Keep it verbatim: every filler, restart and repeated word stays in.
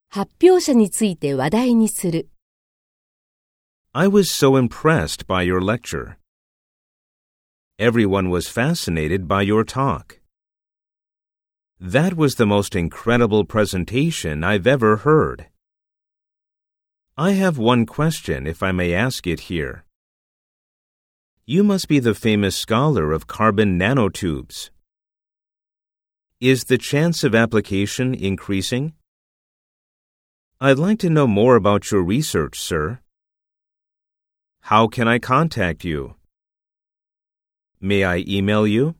発表者について話題にする。 I was so impressed by your lecture. Everyone was fascinated by your talk. That was the most incredible presentation I've ever heard. I have one question, if I may ask it here. You must be the famous scholar of carbon nanotubes. Is the chance of application increasing? I'd like to know more about your research, sir. How can I contact you? May I email you?